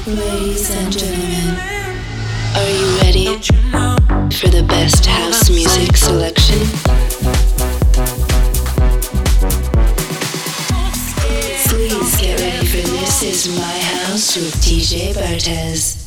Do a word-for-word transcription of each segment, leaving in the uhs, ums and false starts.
Ladies and gentlemen, are you ready for the best house music selection? Please get ready for This Is My House with D J Bartez.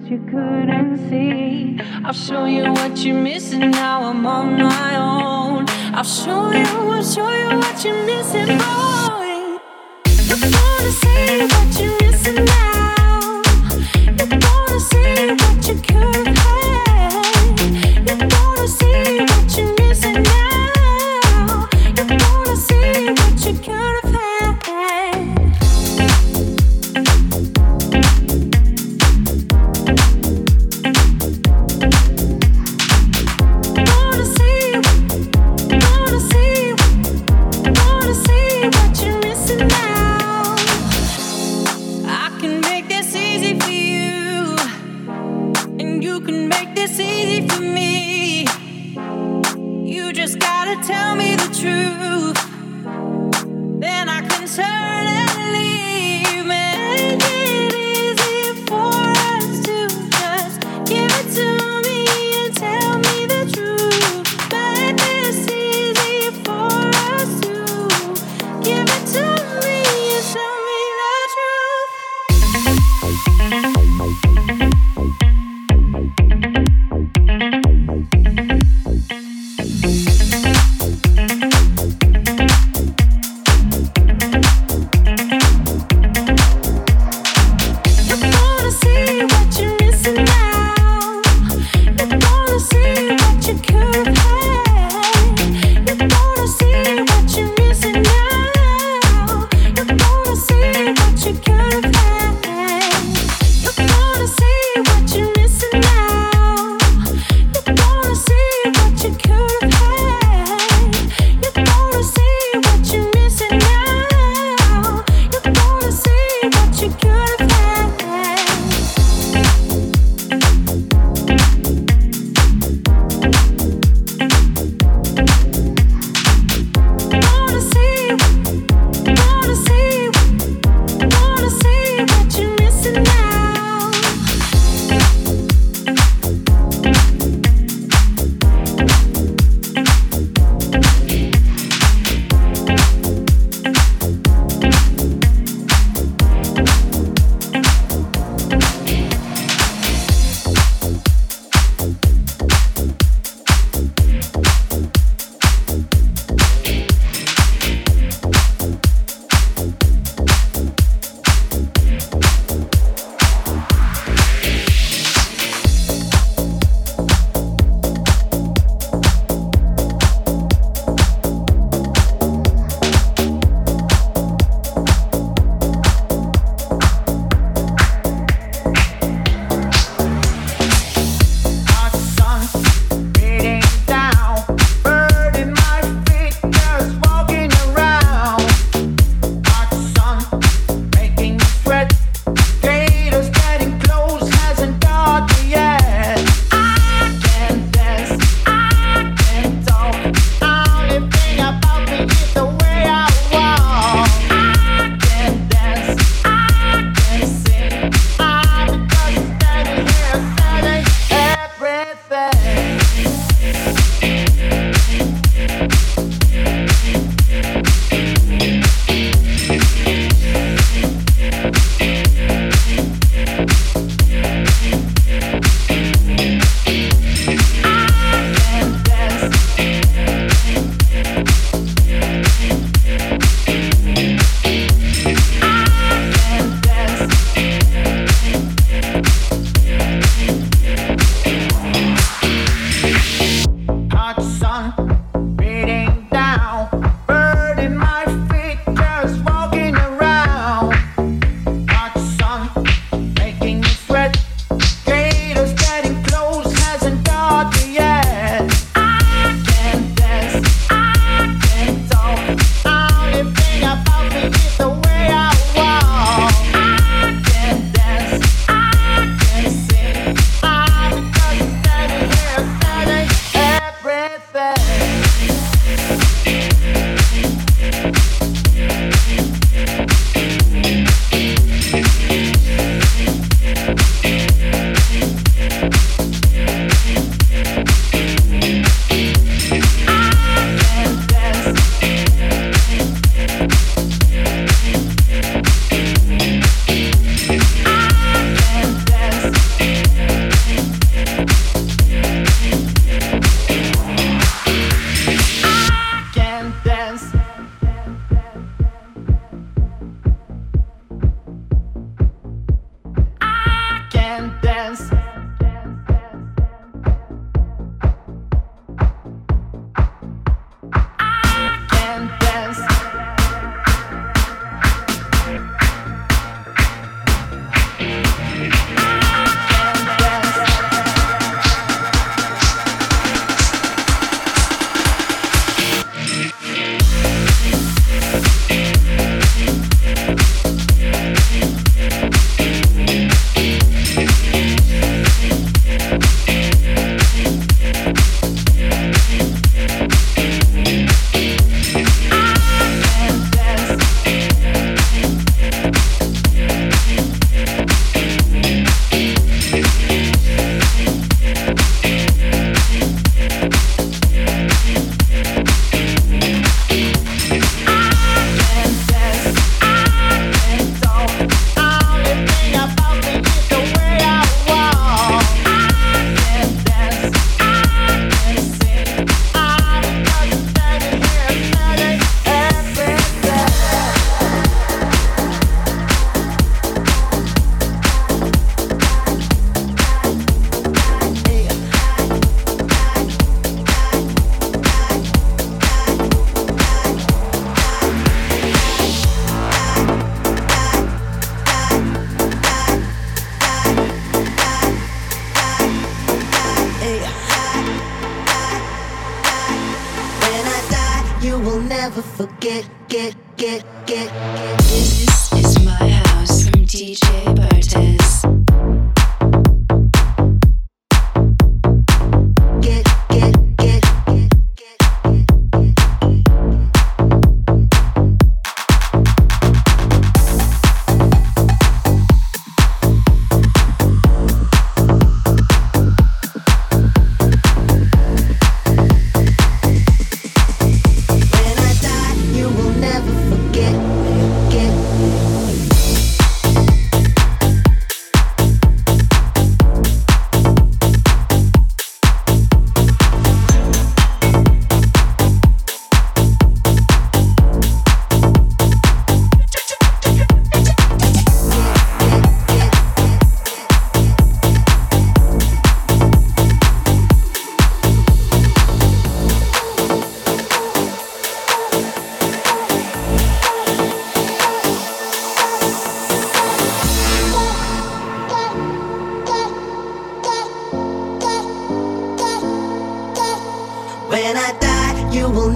you couldn't see. I'll show you what you're missing, now I'm on my own. I'll show you, I'll show you what you're missing, boy. You're gonna see what you're missing now. You're gonna see what you could have. You're gonna see what you're missing now. You're gonna see what you could have had. Gonna see, gonna see, gonna see what you're missing now. I can make this easy for you, and you can make this easy for me. You just gotta tell me the truth, then I can turn and leave. Make it easy for us to just give it to me and tell me the truth. Make this easy for us to give it to me and tell me the You're gonna see what you're missing now. You're gonna see what you could have. You're gonna see what you're missing now. You're gonna see what you could have. You're gonna see what you're missing now. You're gonna see what you could have. You're gonna see what you're missing now. You're gonna see what you could have. Gonna see, gonna see, gonna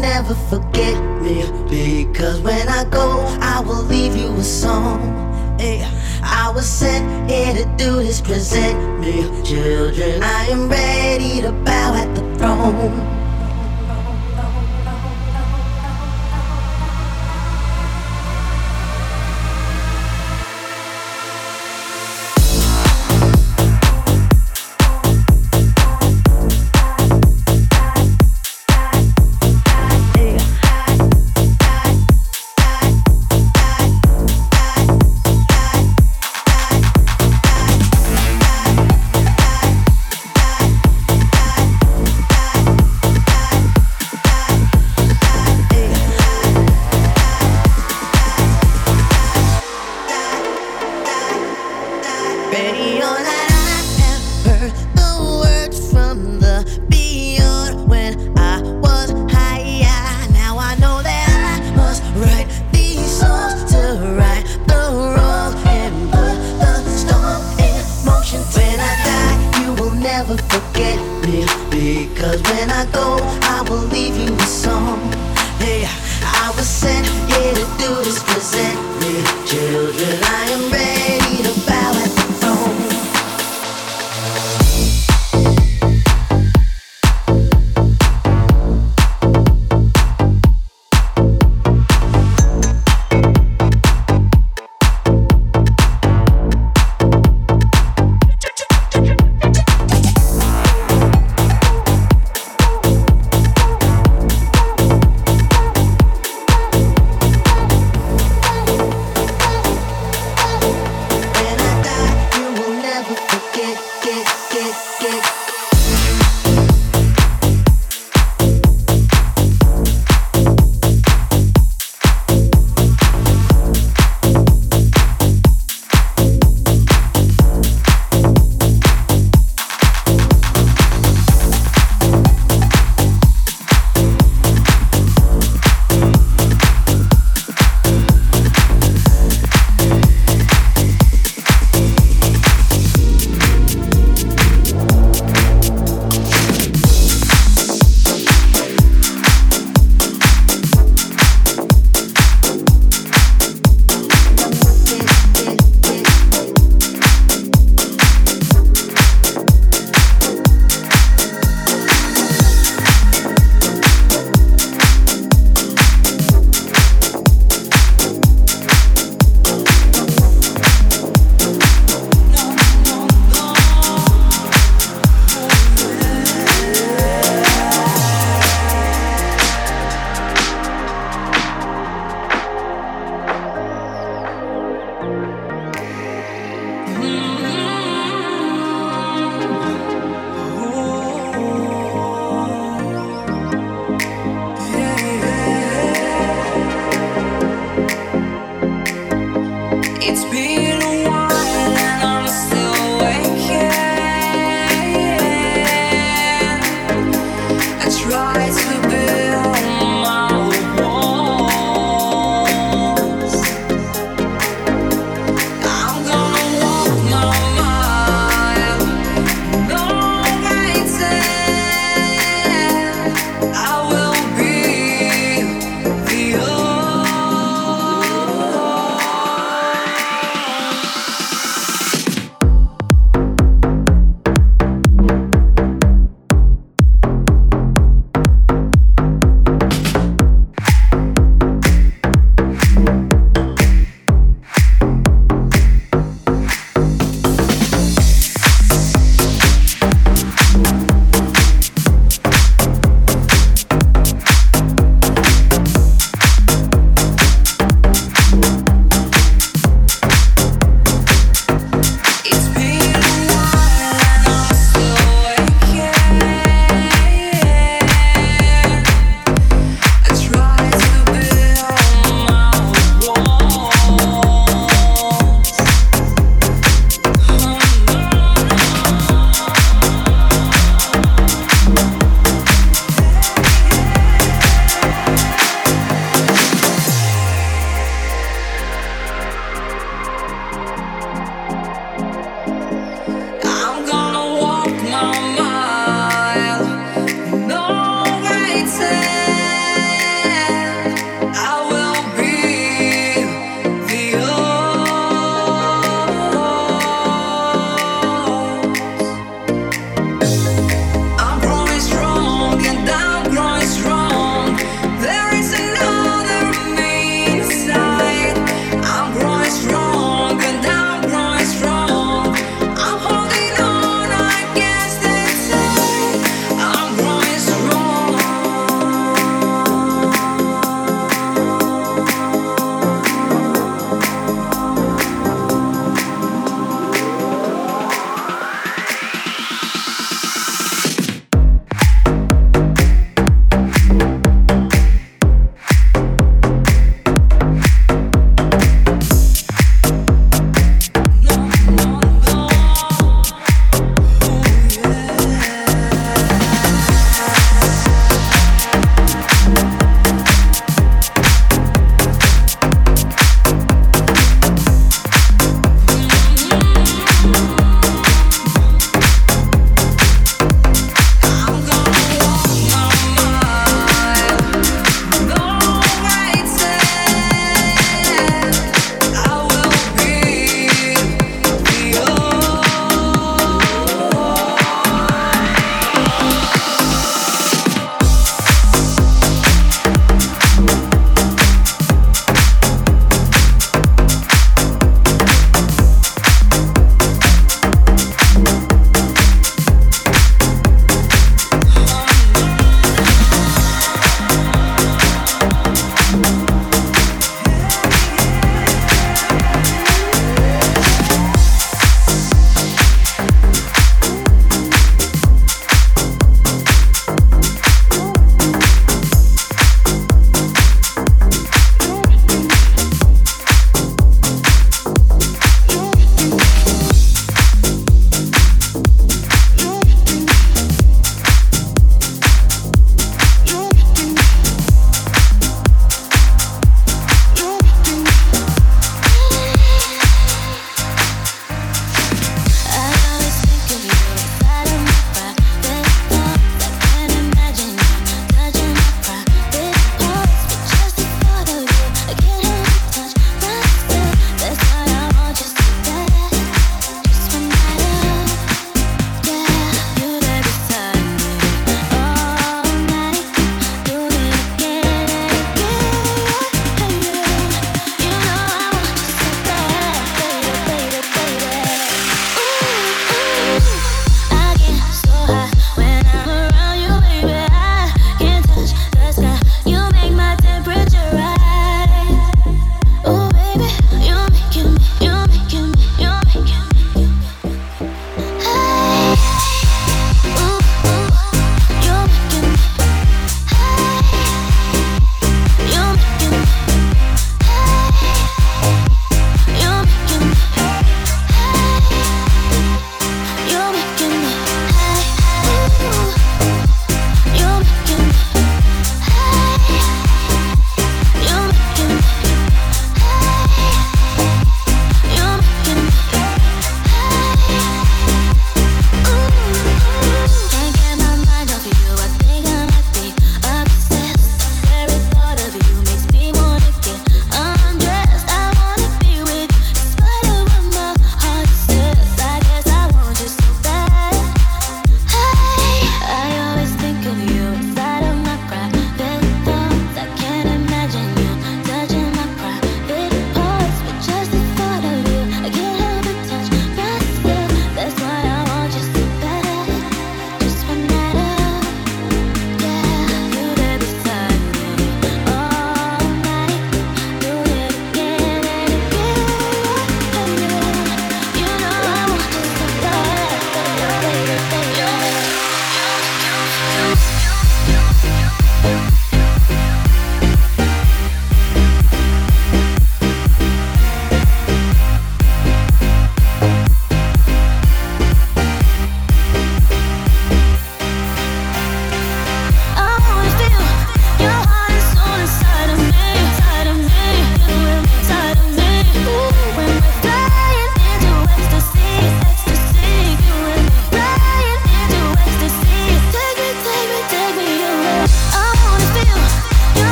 never forget me, because when I go, I will leave you a song. Hey, I was sent here to do this, present me, children. I am ready to bow at the throne.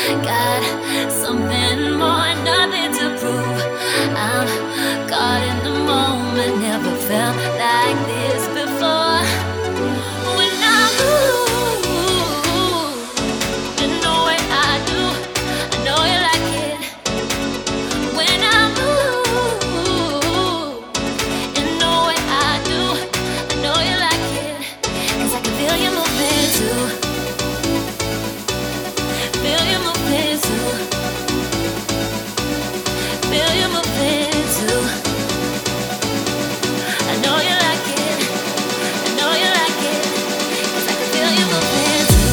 Got something more, nothing to prove. I'm caught in the moment, never felt like this before. When I move, in the way I do, I know you like it. When I move, in the way I do, I know you like it. 'Cause I can feel you moving too. Feel you moving too. Feel you moving too. I know you like it. I know you like it. 'Cause I can feel you moving too.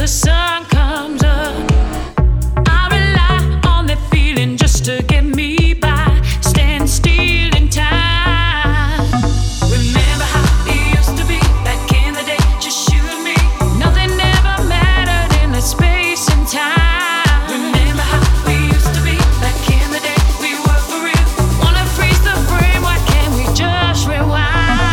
the sun comes up. I rely on that feeling just to get me by. Stand still in time. Remember how it used to be back in the day. Just you and me. Nothing ever mattered in that space and time. Remember how we used to be back in the day. We were for real. Wanna freeze the frame? Why can't we just rewind?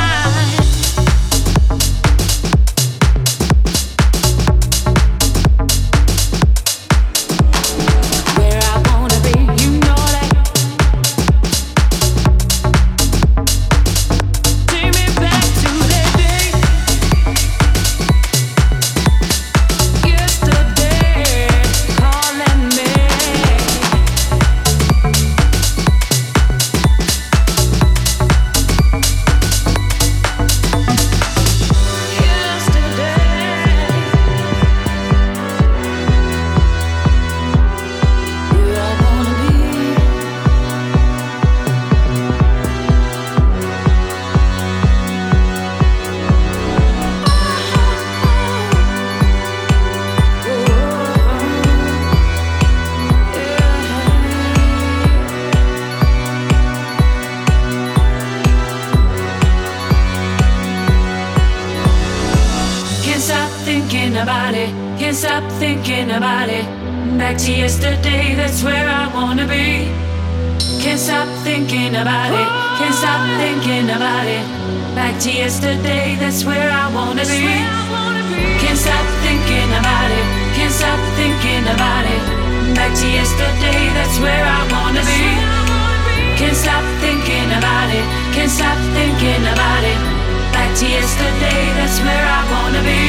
Back to yesterday, that's where I wanna be. Can't stop thinking about it. Can't stop thinking about it. Back to yesterday, that's where I wanna be. Can't stop thinking about it. Can't stop thinking about it. Back to yesterday, that's where I wanna be. Can't stop thinking about it. Can't stop thinking about it. Back to yesterday, that's where I wanna be.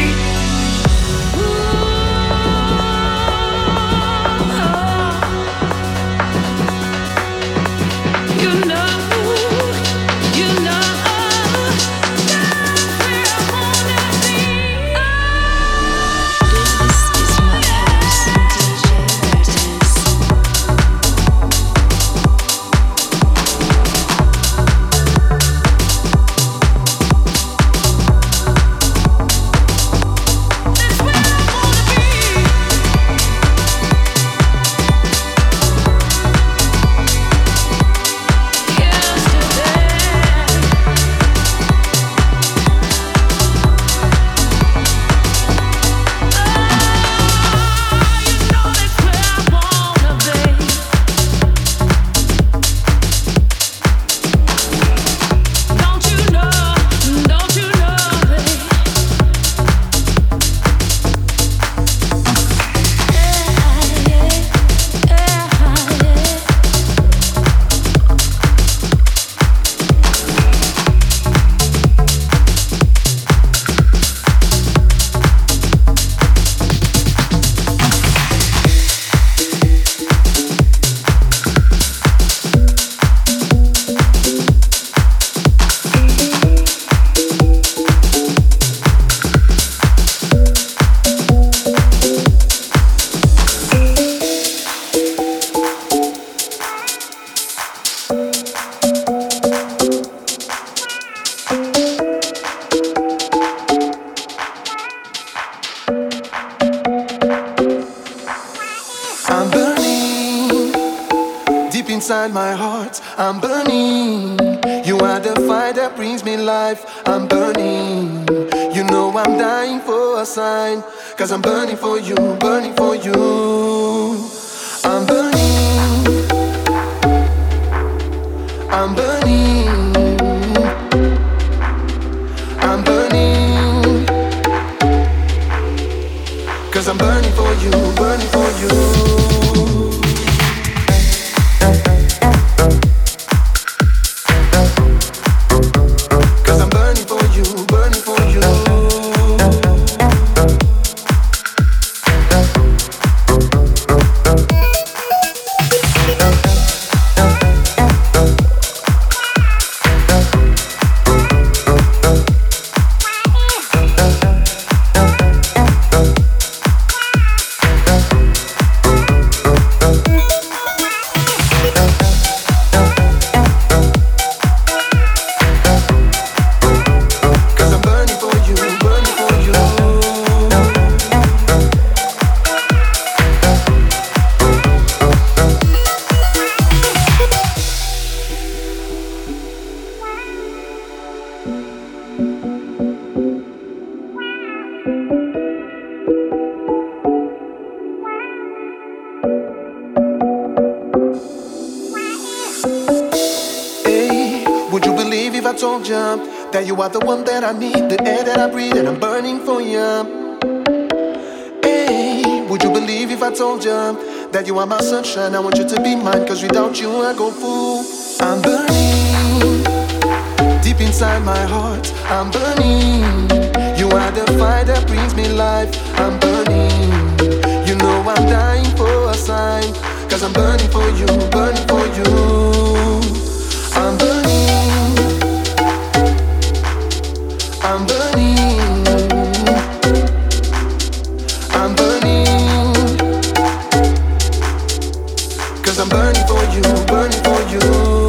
Inside my heart, I'm burning. You are the fire that brings me life. I'm burning. You know I'm dying for a sign. Cause I'm burning for you, burning for you. I'm burning. I'm burning. I'm burning. Cause I'm burning for you, burning for you. Would you believe if I told you that you are the one that I need, the air that I breathe, and I'm burning for you? Hey, would you believe if I told you that you are my sunshine? I want you to be mine, cause without you I go fool. I'm burning deep inside my heart. I'm burning. You are the fire that brings me life. I'm burning. You know I'm dying for a sign, cause I'm burning for you, burning for you. I'm burning. I'm burning, I'm burning, cause I'm burning for you, burning for you.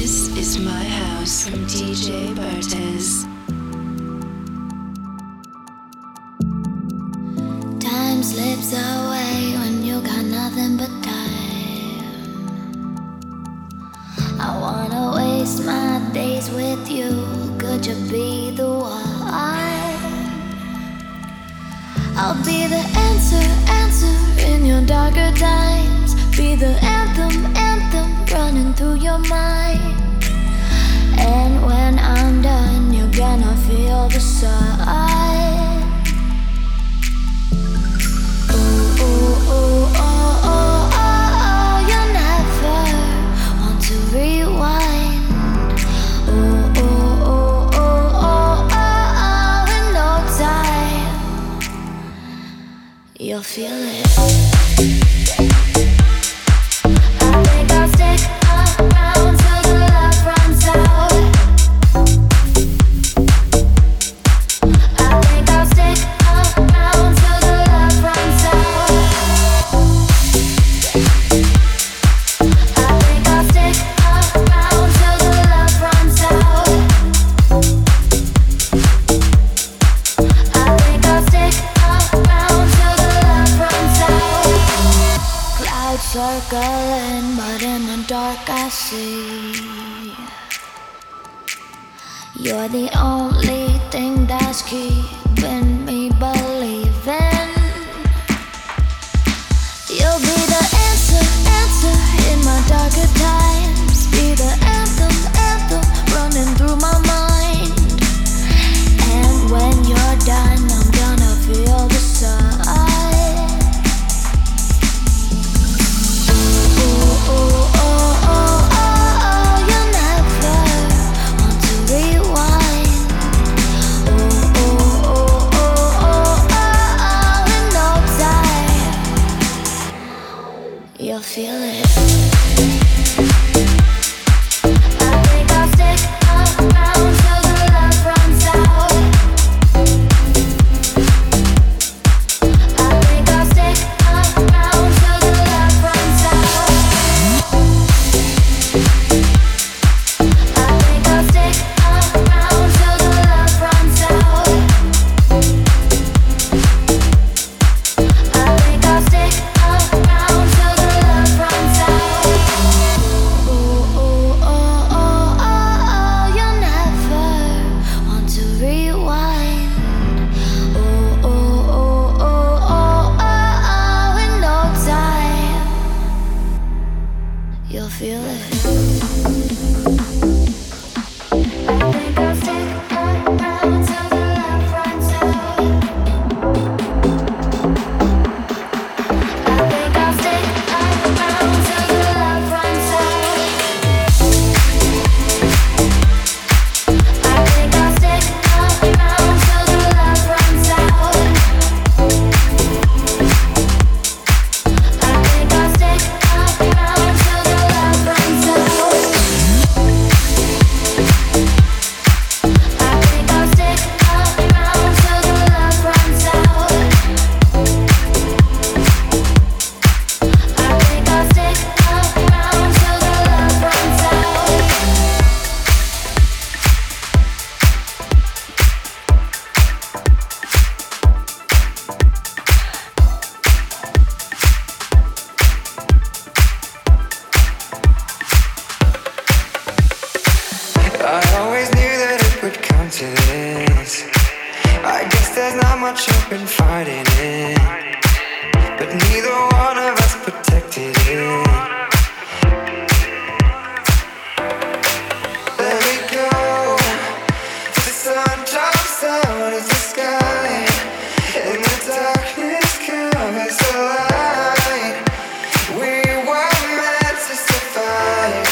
This is My House from D J Bartez. Time slips away when you got nothing but time. I wanna waste my days with you. Could you be the one? I'll be the answer, answer in your darker times. Be the anthem, anthem running through your mind. And when I'm done, you're gonna feel the sun. Ooh, ooh, ooh, oh, oh, oh, you never want to rewind. Ooh, ooh, ooh, ooh, oh, oh, oh, in no time, you'll feel it. I think I'll stick around till the love runs out. I think I'll stick around till the love runs out. I think I'll stick around till the love runs out. I think I'll stick around till the love runs out. Clouds circling, but in the dark I see you're the only thing that's keeping me believing. You'll be the answer, answer in my darker times. Be the anthem, anthem running through my mind. And when you're done, I'm gonna feel the sun. Ooh, ooh, oh, oh, oh, oh, you never want to rewind. Ooh, ooh, ooh, ooh, oh, oh, in no time, you'll feel it. I think I'll stick around till the love runs out. I think I'll stick around till the love runs out. I think I'll stick around till the love runs out. I think I'll stick around till the love runs out. Ooh, ooh, oh, oh, oh, you never want to rewind. Ooh, ooh, ooh, ooh, oh, oh, in no time, you'll feel it. I think I'll stick around till the love runs out. I think I'll stick around till the love runs out. I think I'll stick around till the love runs out. I think I'll stick around till the love runs out. I think I'll stick around till the love runs out. I think I'll stick around till the love runs out. I always knew that it would come to this. I guess there's not much hope in fighting it, but neither one of us protected it. Let me go. The sun drops out of the sky, and the darkness covers the light. We were meant to survive.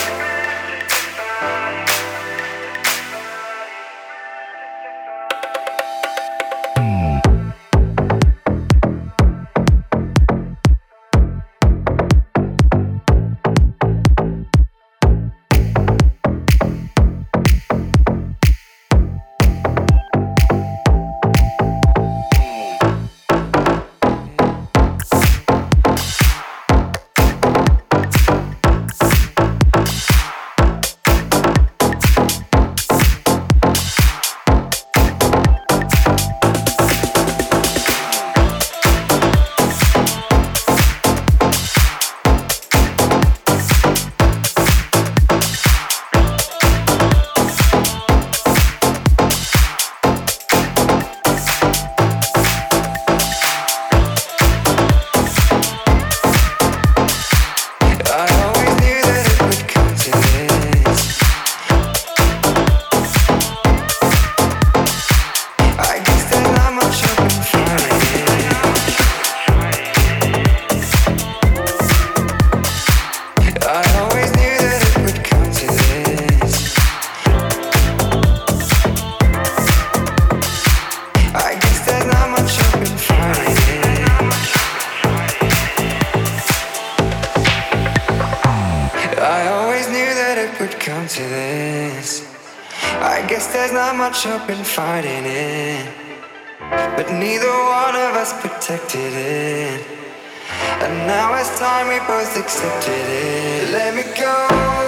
to this. I guess there's not much hope in fighting it, but neither one of us protected it. And now it's time we both accepted it. Let me go.